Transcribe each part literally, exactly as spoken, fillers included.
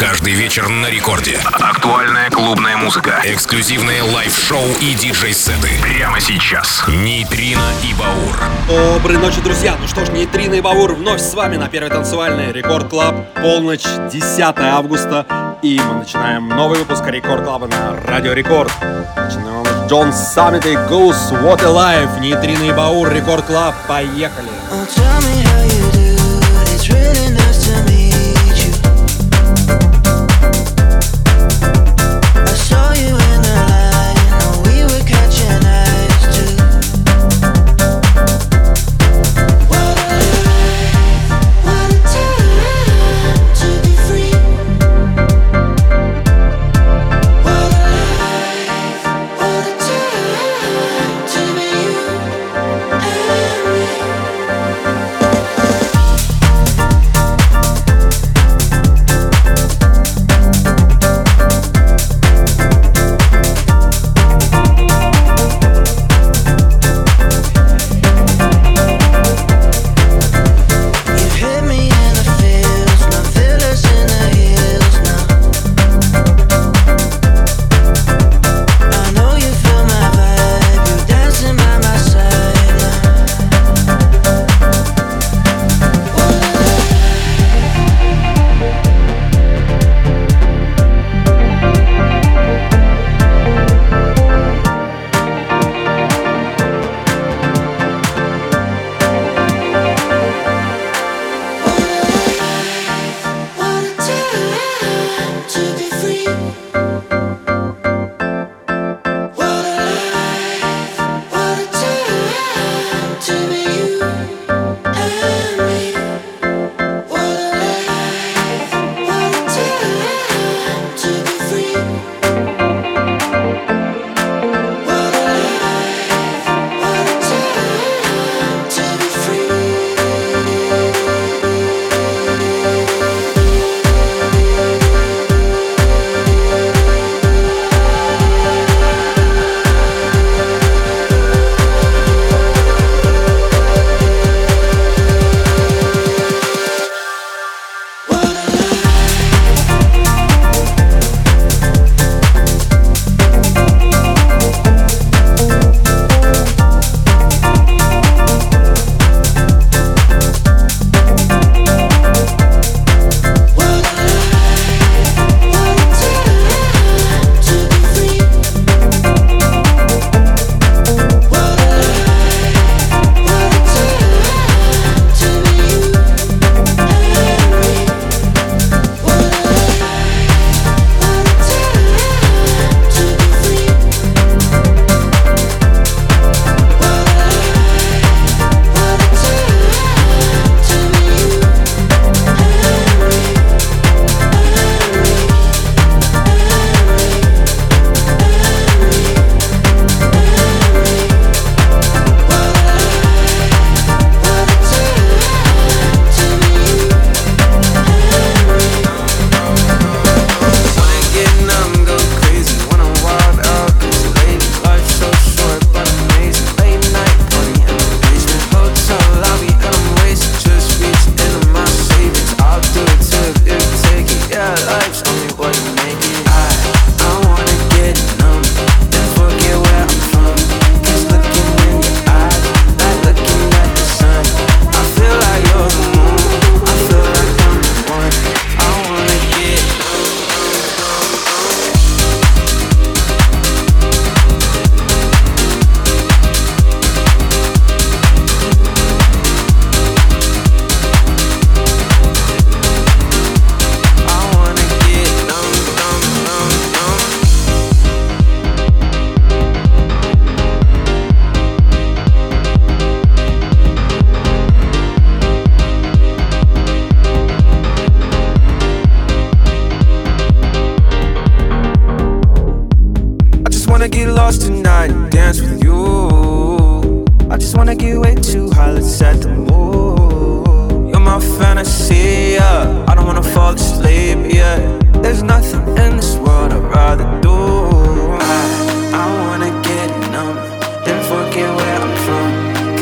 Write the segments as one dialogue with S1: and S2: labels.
S1: Каждый вечер на рекорде. Актуальная клубная музыка, эксклюзивные лайв-шоу и диджей-сеты. Прямо сейчас. Нейтрино и Баур.
S2: Доброй ночи, друзья! Ну что ж, Нейтрино и Баур вновь с вами на первой танцевальной Рекорд Клаб. Полночь, десятое августа. И мы начинаем новый выпуск Рекорд Клаба на Радио Рекорд. Начинаем с Джон Саммит и Goose What a Life. Нейтрино и Баур, Рекорд Клаб. Поехали!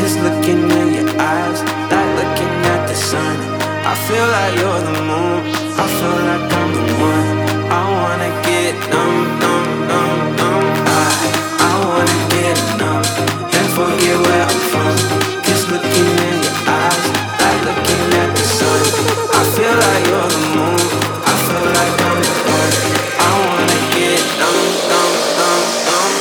S3: feel like you're the moon. I feel like I'm the one. I wanna get numb, numb, numb, numb. I, I wanna get numb and forget where I'm from. Just looking in your eyes, like looking at the sun. I feel like you're the moon. I feel like I'm the one. I wanna get numb, numb, numb, numb.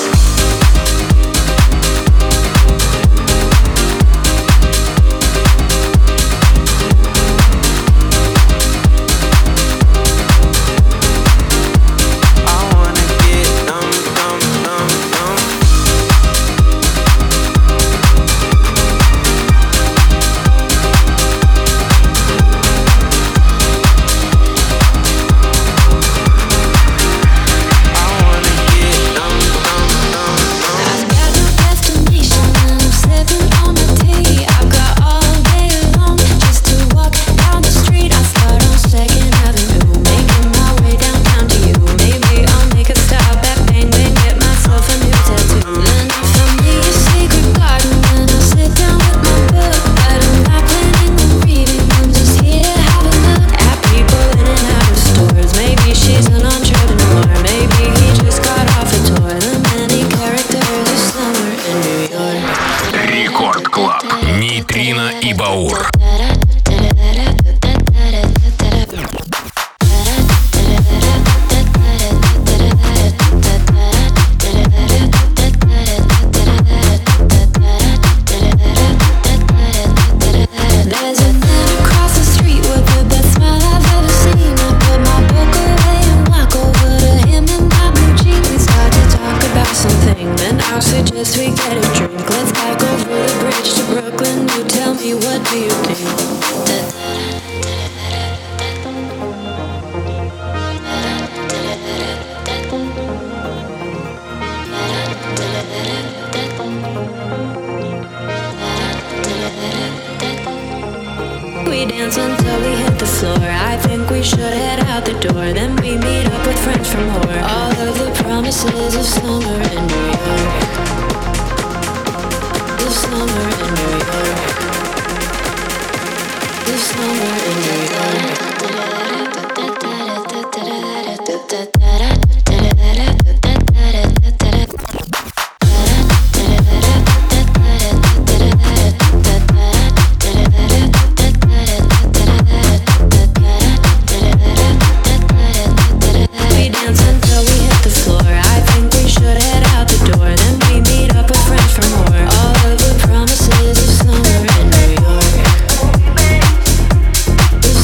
S4: We dance until we hit the floor. I think we should head out the door. Then we meet up with friends from more. All of the promises of summer in New York. The summer in New York. The summer in New York.
S3: Promises of summer in New York.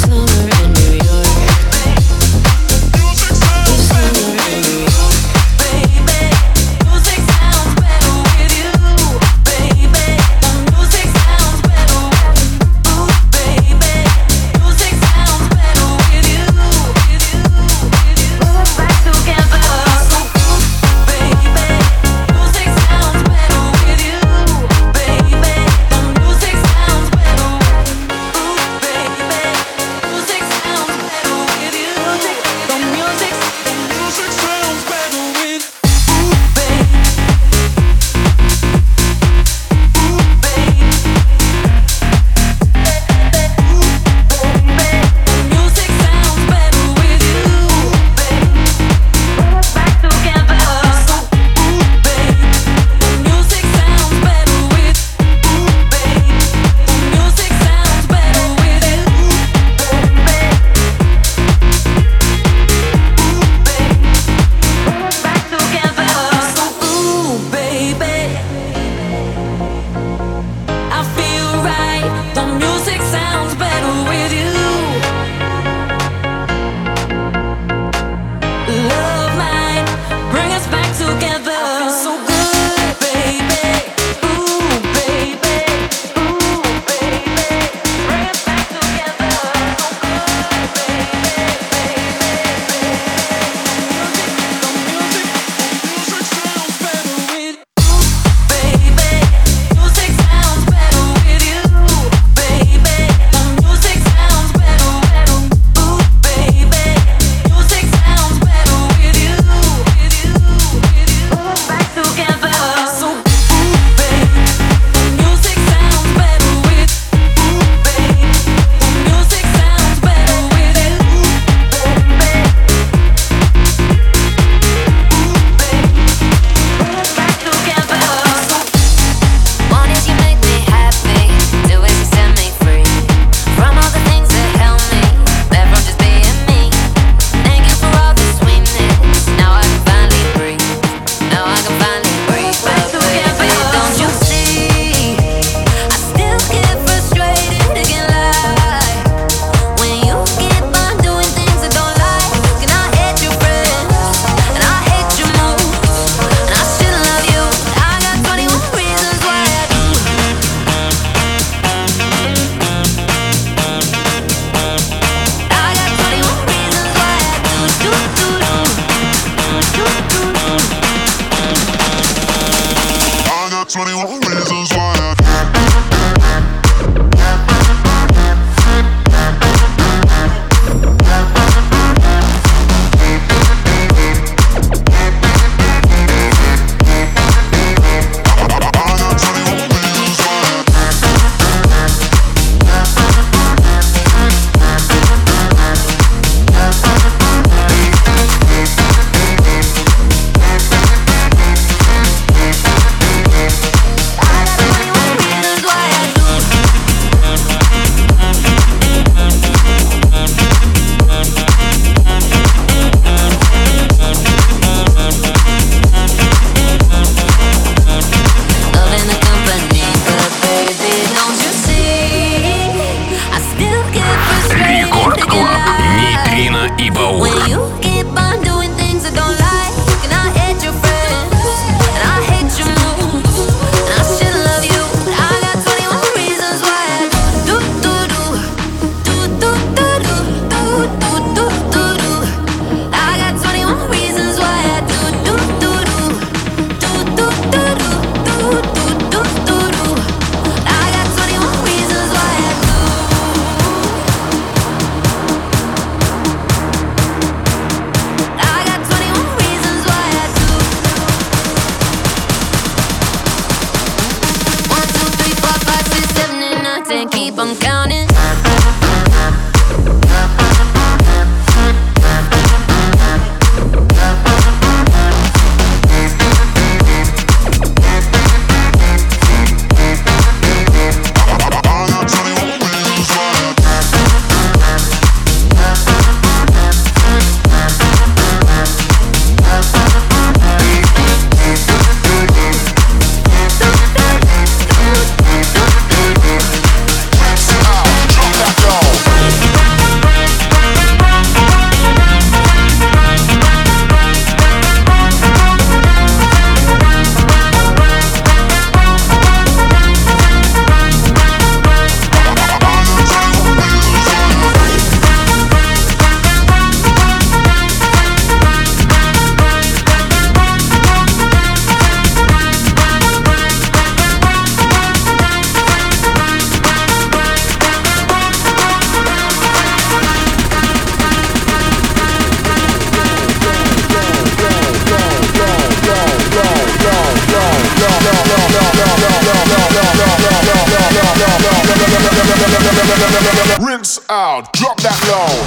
S5: out, drop that low.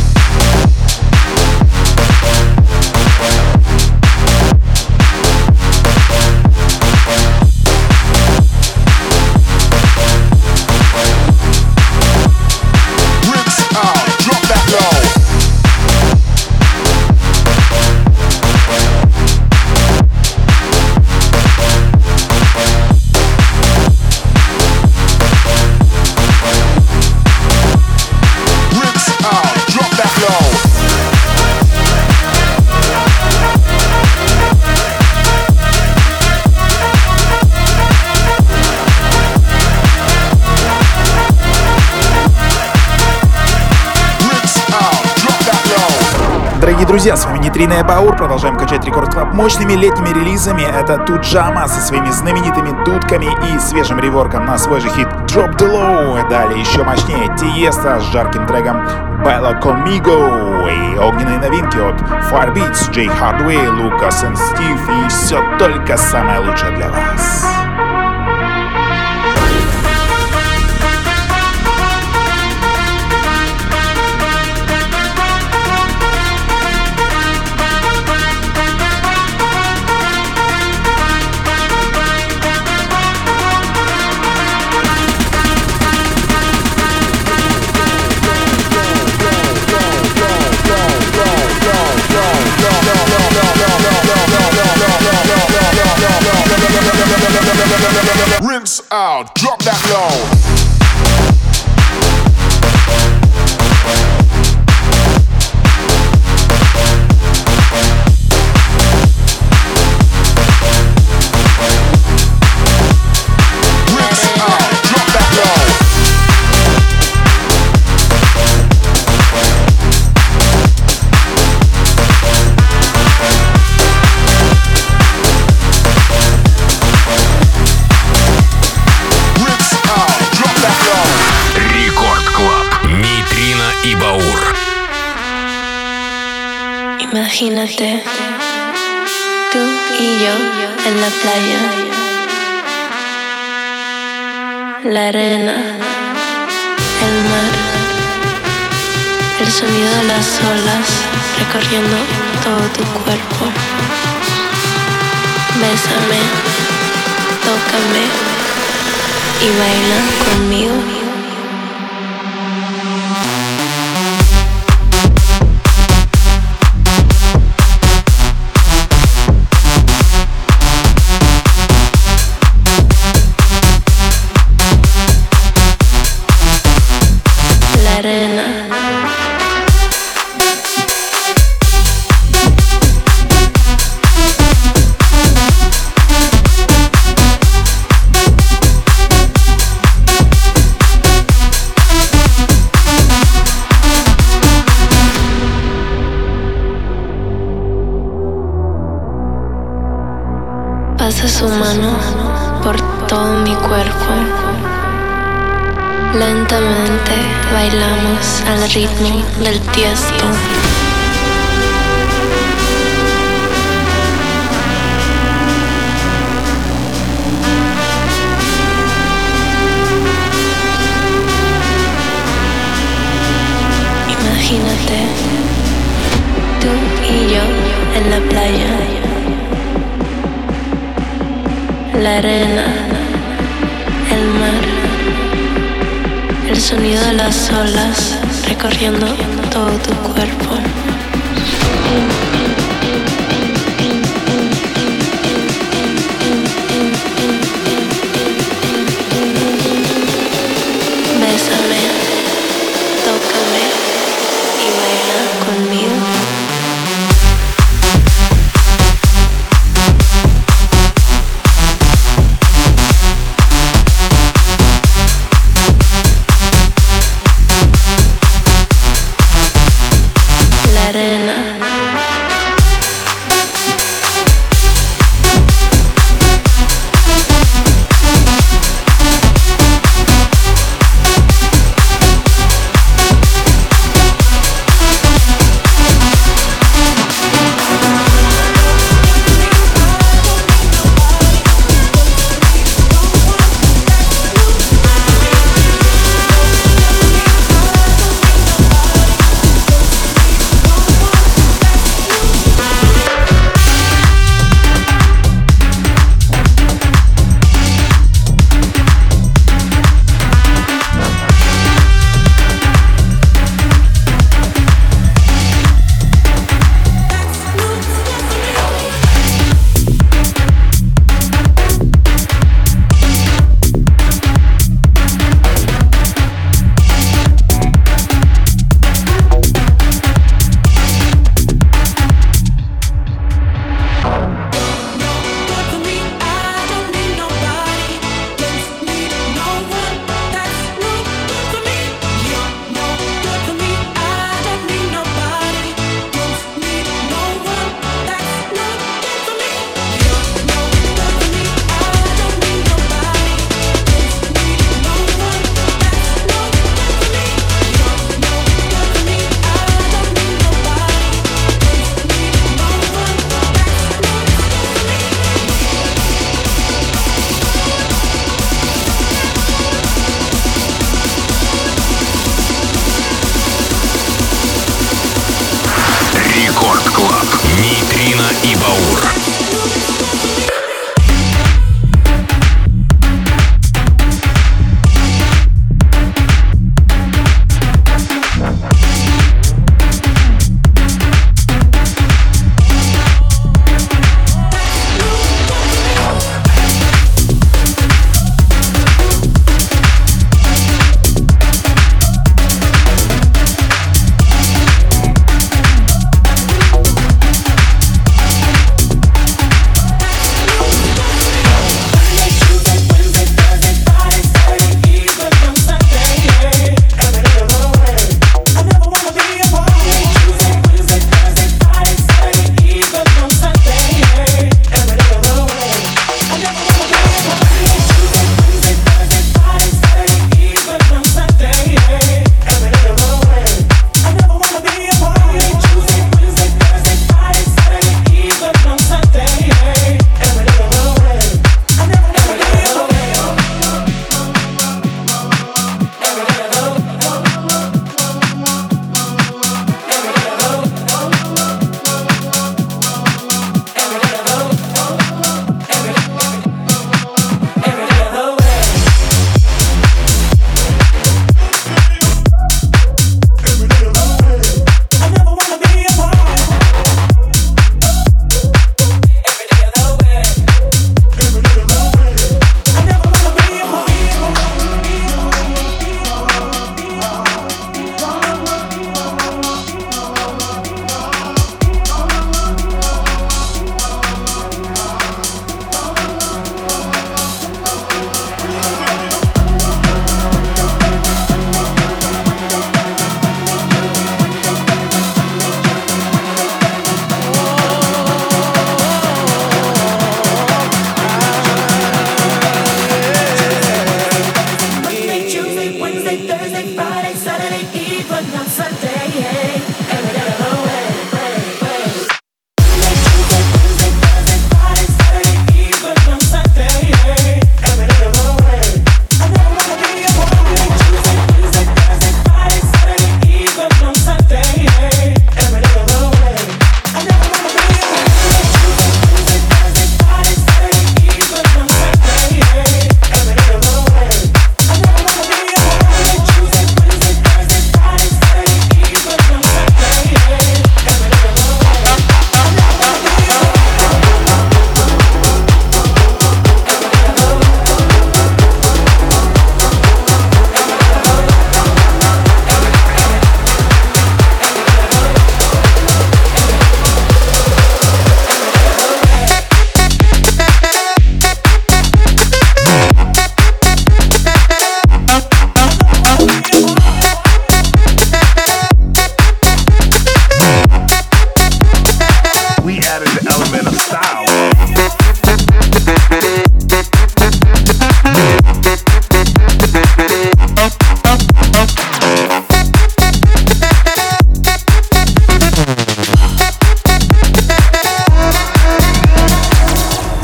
S6: Дорогие друзья, с вами Нейтрино и Баур. Продолжаем качать Рекорд Клаб мощными летними релизами. Это Туджама со своими знаменитыми дудками и свежим реворком на свой же хит Drop the Low. Далее еще мощнее Тиеста с жарким треком Baila Conmigo и огненные новинки от Firebeats, Джей Hardway, Лукас и Стив. И все только самое лучшее для вас.
S5: Rinse out, drop that low.
S4: Imagínate, tú y yo en la playa, la arena, el mar, el sonido de las olas recorriendo todo tu cuerpo. Bésame, tócame y baila conmigo. Pasa su mano por todo mi cuerpo. Lentamente bailamos al ritmo del Tiesto. Imagínate, tú y yo en la playa, la arena, el mar, el sonido de las olas recorriendo todo tu cuerpo. Bésame, tócame y baila conmigo.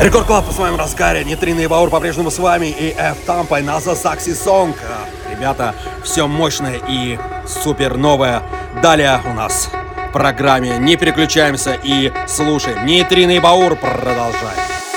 S2: Рекорд Клаб в своем разгаре. Нейтрина и Баур по-прежнему с вами. И F-Tampa и NASA Saxy Song. Ребята, все мощное и супер новое. Далее у нас в программе. Не переключаемся и слушаем. Нейтрина и Баур. Продолжаем.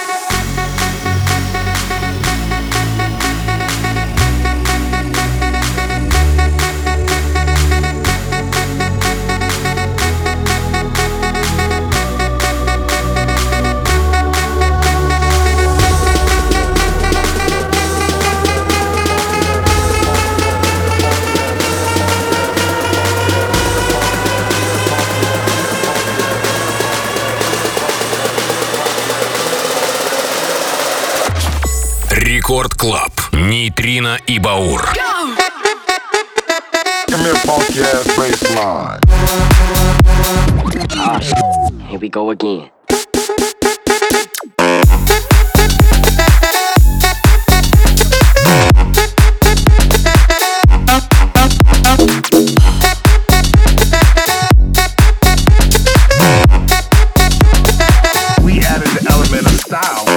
S1: Рекорд Клаб. Нейтрина и Баур.
S5: Give me a funky ass bass line.
S7: Ah, here we go again.
S5: We added the element of style.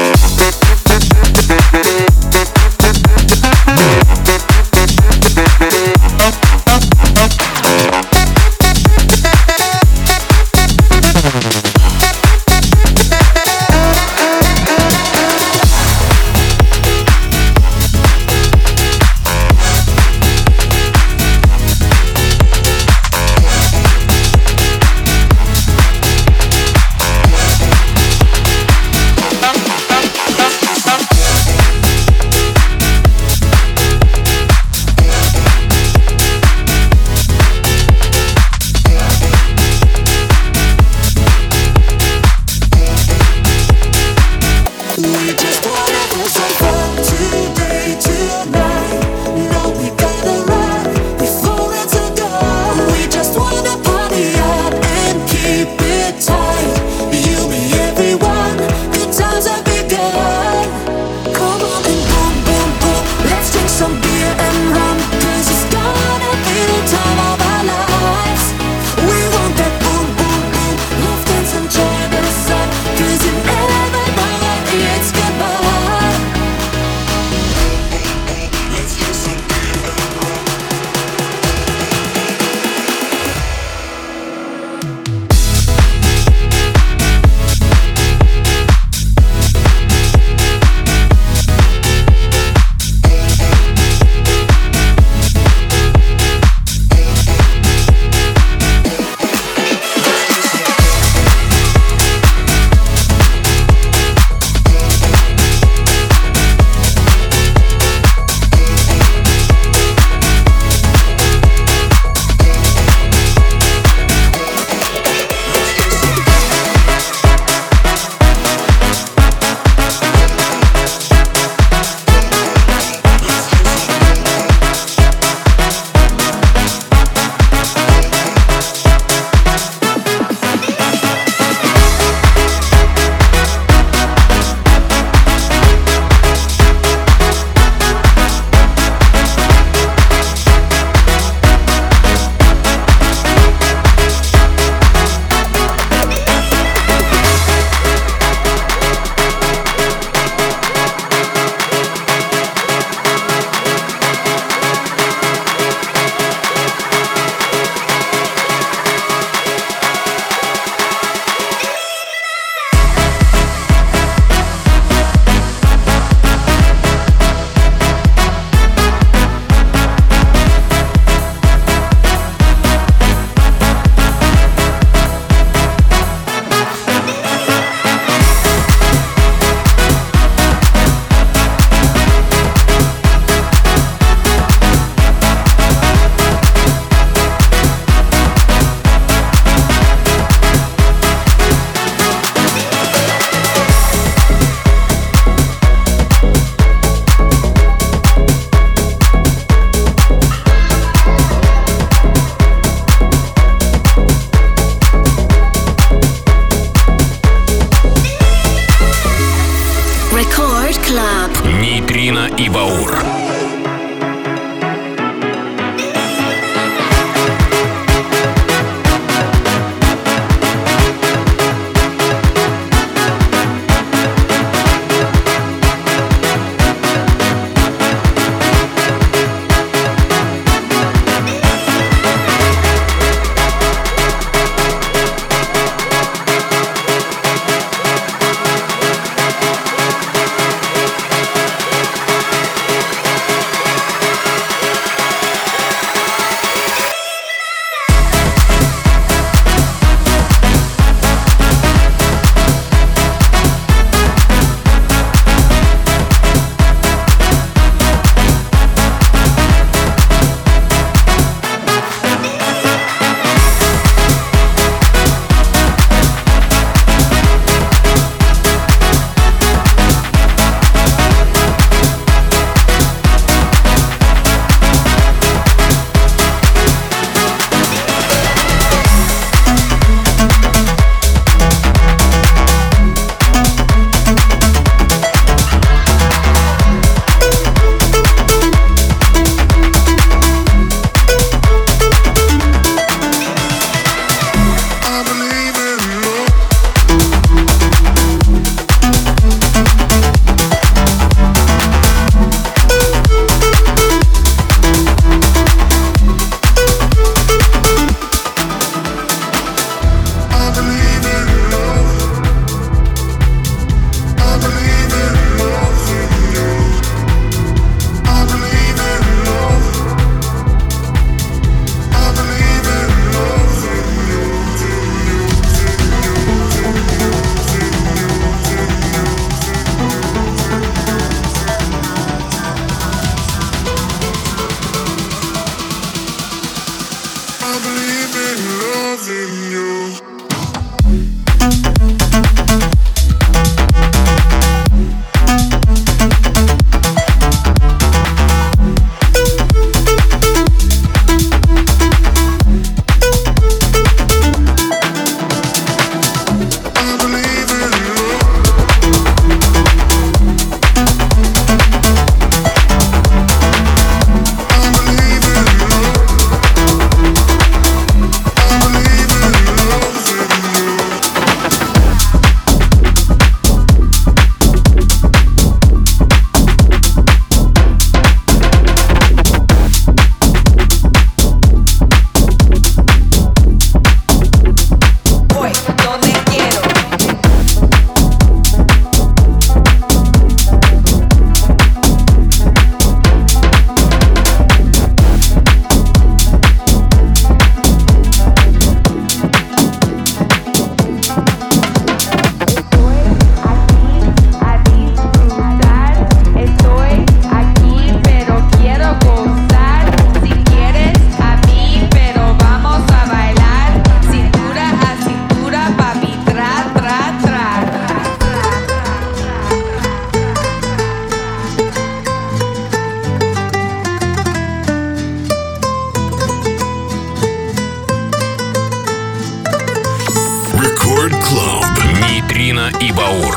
S1: Record Club. Нейтрино и Баур.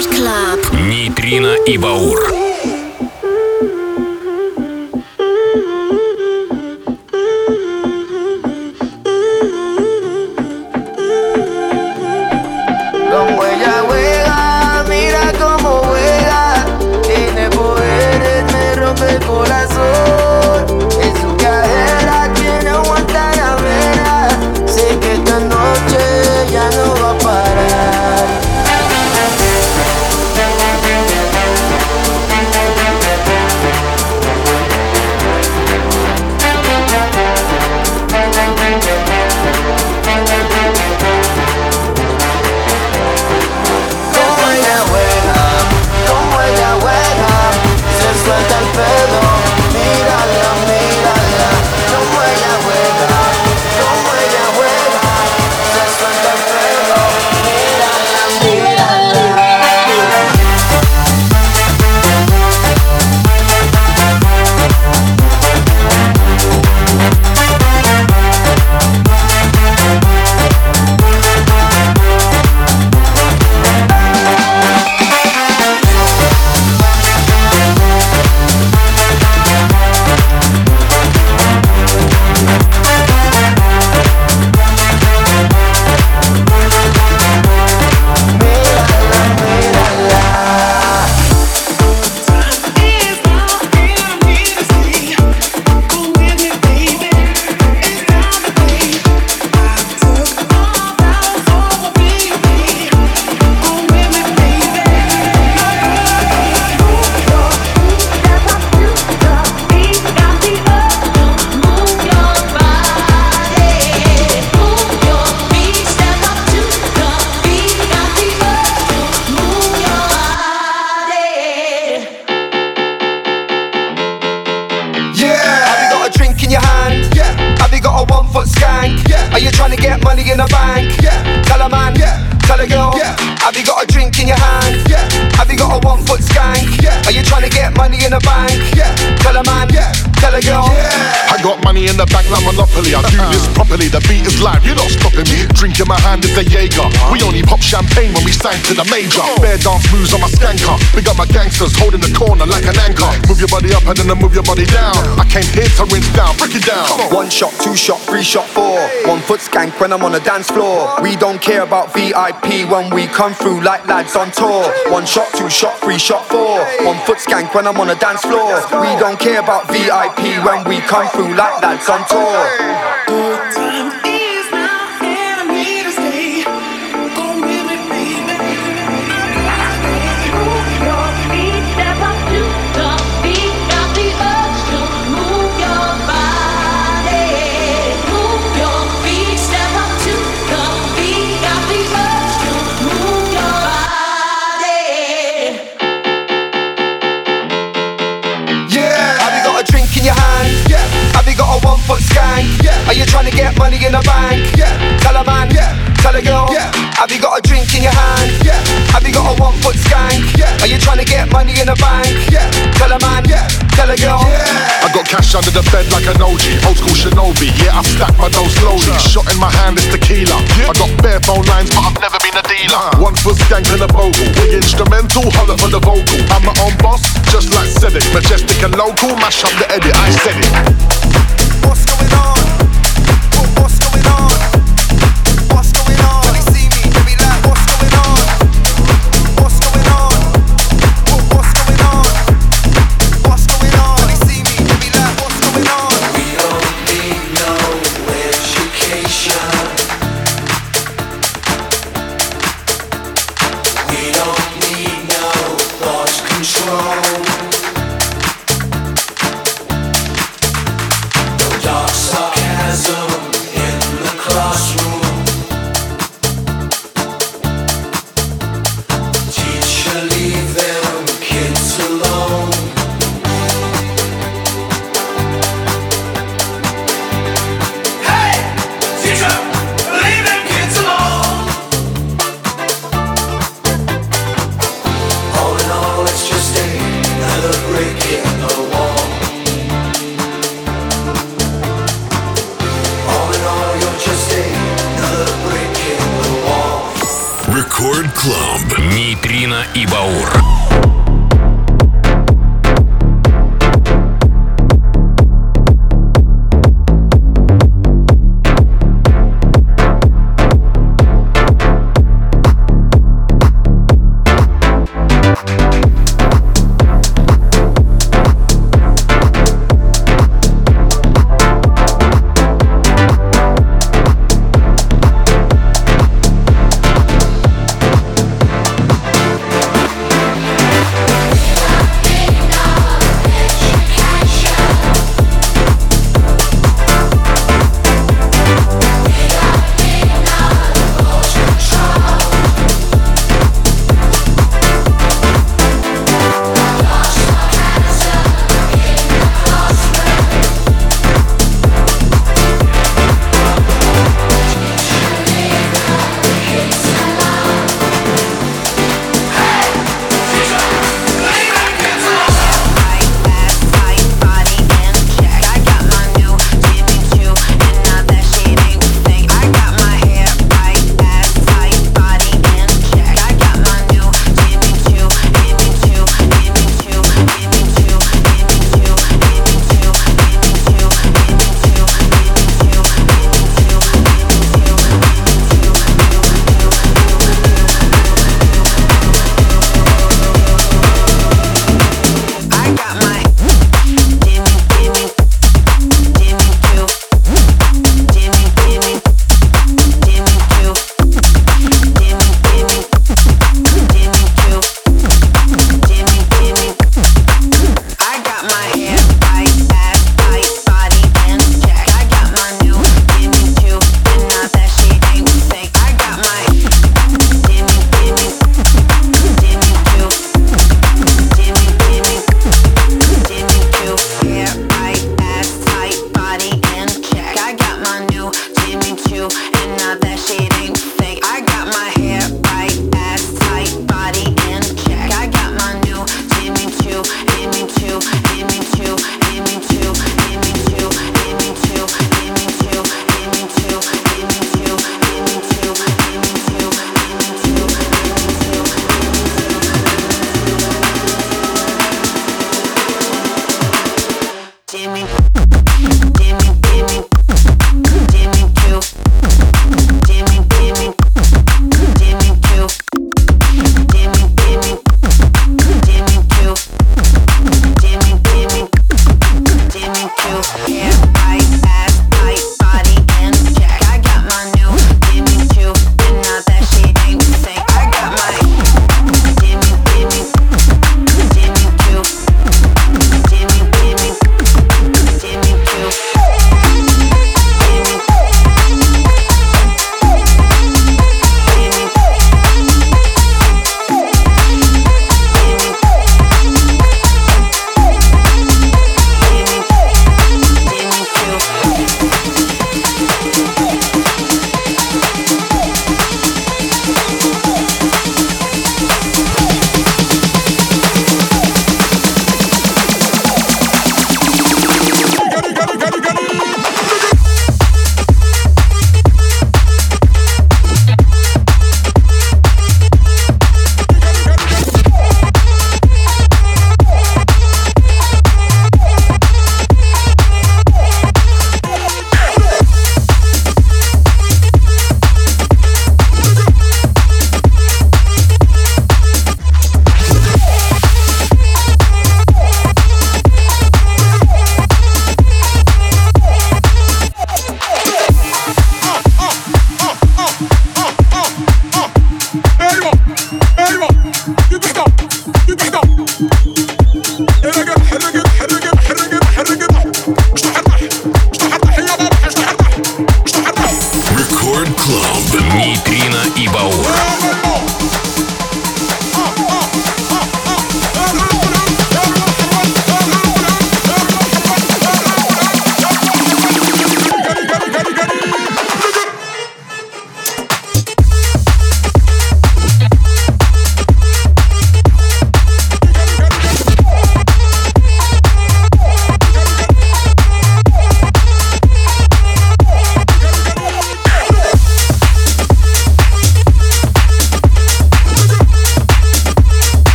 S4: Record Club.
S1: Нейтрино и Баур.
S8: Como ella juega, mira cómo juega. Tiene poderes, me rompe el corazón. En su cadera tiene Guantanamera. Sé que esta noche ya no va a parar. Suelta el pelo, mírala, mírala, como ella juega, como ella juega, se suelta el pelo, mírala, mírala.
S5: Monopoly, I do this properly, the beat is live, you're not stopping me. Drink in my hand is a Jaeger. We only pop champagne when we sign to the major. Bear dance moves on my skanker. Big up my gangsters, holding the corner like an anchor. Move your body up and then move your body down. I came here to rinse down, break it down.
S9: One shot, two shot, three shot, four. One foot skank when I'm on the dance floor. We don't care about V I P when we come through like lads on tour. One shot, two shot, three shot, four. One foot skank when I'm on the dance floor. We don't care about V I P when we come through like lads on tour.
S8: Good time is now, and I need to stay. Go with me, baby.
S4: Move your feet, step up to the beat. Got the urge to move your body. Move your feet, step up to the beat. Got the urge to move your body.
S9: Yeah, have you got a drink in your hand? Yeah. Have you got a one foot skank? Yeah. Are you trying to get money in the bank? Yeah. Tell a man, yeah. Tell a girl, yeah. Have you got a drink in your hand? Yeah. Have you got a one foot skank? Yeah. Are you trying to get money in the bank? Yeah. Tell a man, yeah. Tell a girl, yeah.
S5: I got cash under the bed like an O G, old school Shinobi. Yeah, I've stacked my dough slowly. Shot in my hand is tequila. I got bare phone lines, but I've never been a dealer. One foot skank and a bogle. We instrumental, holler for the vocal. I'm my own boss, just like Cedric. Majestic and local, mash up the edit. I said it.
S9: What's going on? What's going on? What's going on? When they see me, they be like, what's going on? What's going on? What's going on? What's going on? When they see me, they be like, what's going on?
S3: We don't need no education. We don't need no thought control. Dark sarcasm in the classroom. Teacher, leave them kids alone. Hey, teacher, leave them kids alone. All in all, it's just another brick in the wall.
S1: Record Club. Нейтрино Нитрина и Баур.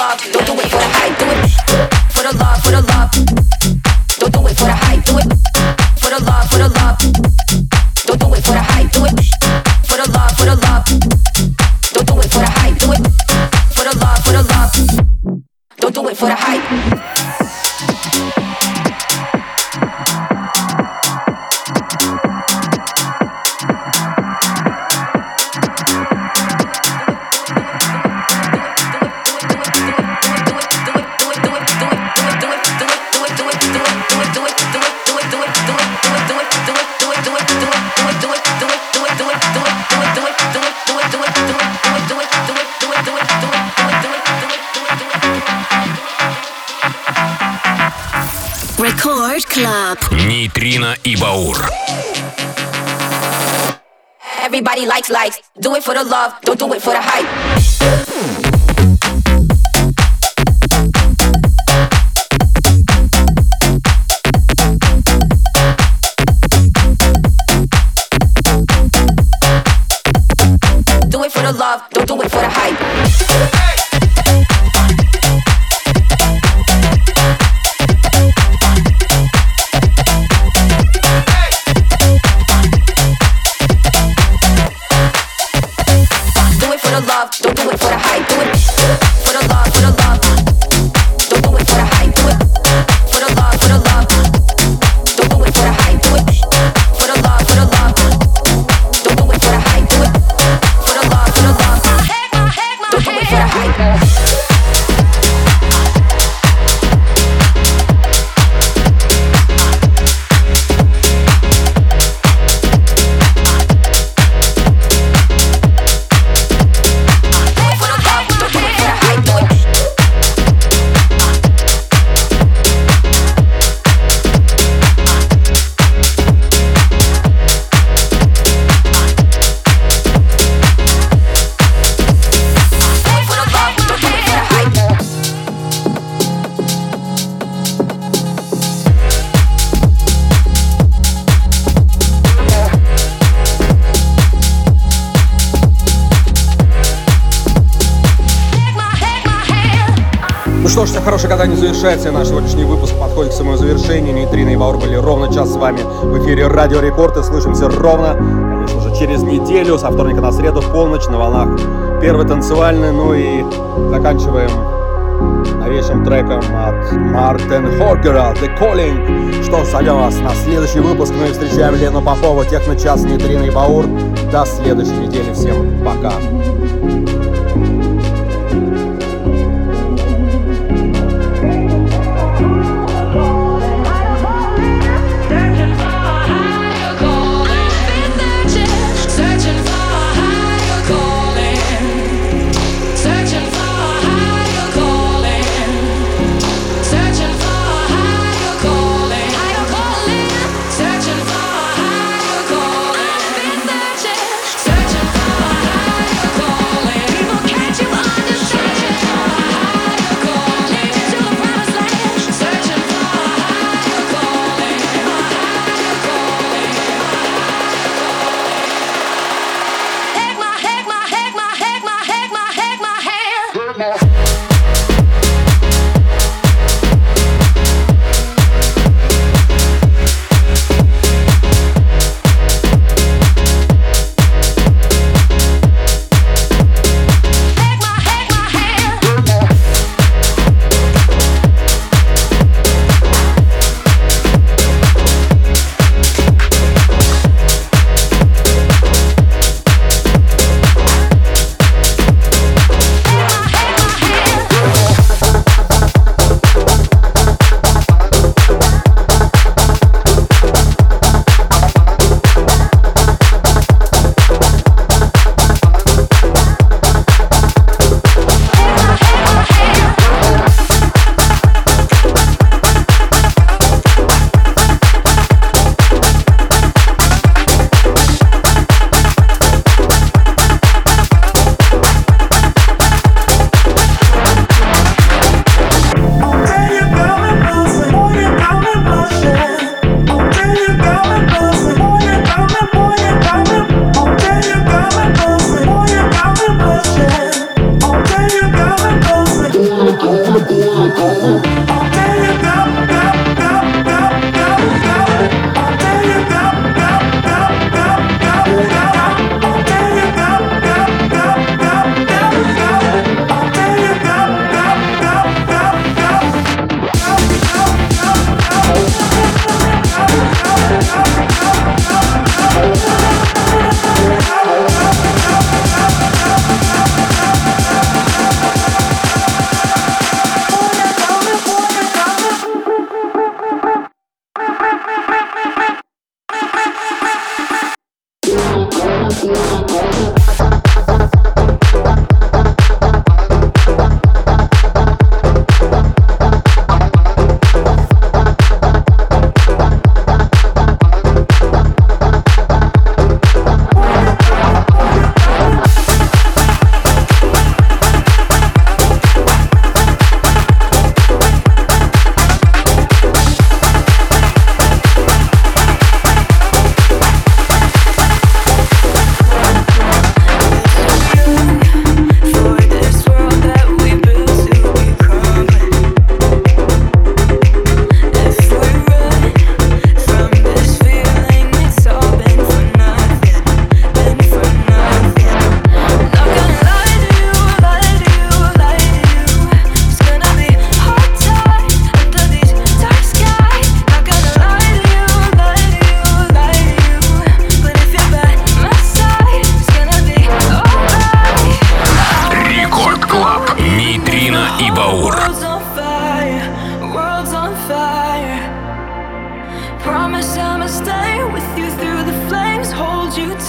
S10: love, don't do it for the hype. Do it for the love, for the love. Don't do it for the hype. Do it for the love, for the love. Don't do it for the hype. Do it for the love, for the love. Don't do it for the hype. Do it for the love, for the love. Don't do it for the hype.
S4: Record Club.
S1: Нейтрино и Баур.
S10: Everybody likes likes. Do it for the love, don't do it for the hype. Do it for the love, don't do it for the hype. Don't do it for the hype, do it for the love, for the love. Don't do it for the hype, do it for the love, for the love. Don't do it for the hype, do it for the love, for the love. Don't do it for the hype, do it for the love, for the love. Don't do it for the hype.
S2: Что ж, все хорошее когда-нибудь завершается. Наш сегодняшний выпуск подходит к своему завершению. Нейтрино и Баур были ровно час с вами в эфире Радио Рекорд. И слышимся ровно, конечно же, через неделю, со вторника на среду, в полночь, на волнах Первой танцевальной. Ну и заканчиваем новейшим треком от Мартин Хоргера «The Calling». Что, зовем вас на следующий выпуск. Ну и встречаем Лену Попову, Техно-час, Нейтрино и Баур. До следующей недели. Всем пока.
S10: Searching for a higher calling.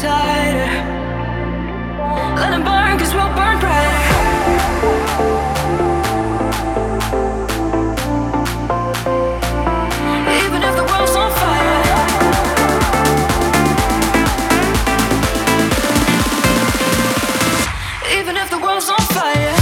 S4: tighter. Let it burn, cause we'll burn brighter. Even if the world's on fire. Even if the world's on fire.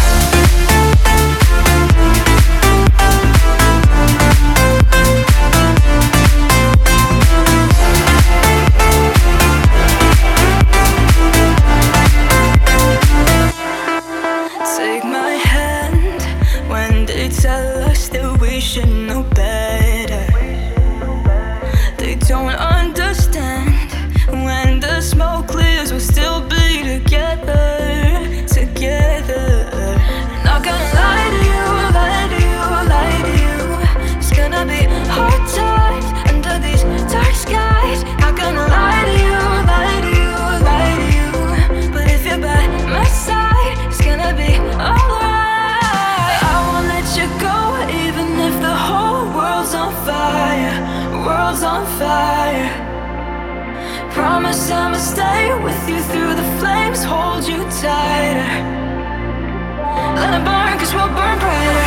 S4: Take my hand when they tell us that we should know better. They don't understand. When the smoke clears, we'll still be together, together. Not gonna lie to you, lie to you, lie to you. It's gonna be hard times under these dark skies. Not gonna lie to you, lie to you, lie to you. But if you're by my side, it's gonna be alright. I won't let you go, even if the whole world's on fire, world's on fire. Promise I'ma stay with you through the flames, hold you tighter. Let it burn, cause we'll burn brighter.